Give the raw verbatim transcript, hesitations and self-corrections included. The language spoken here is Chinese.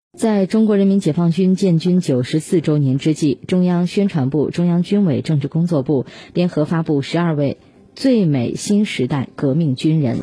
在中国人民解放军建军九十四周年之际，中央宣传部、中央军委政治工作部联合发布十二位最美新时代革命军人。